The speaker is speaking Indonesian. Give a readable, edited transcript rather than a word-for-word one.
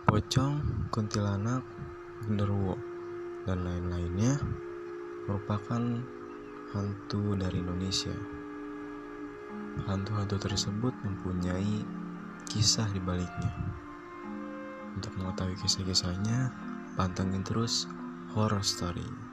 Pocong, kuntilanak, genderuwo, dan lain-lainnya merupakan hantu dari Indonesia. Hantu-hantu tersebut mempunyai kisah di baliknya. Untuk mengetahui kisah-kisahnya, pantengin terus Horror Story.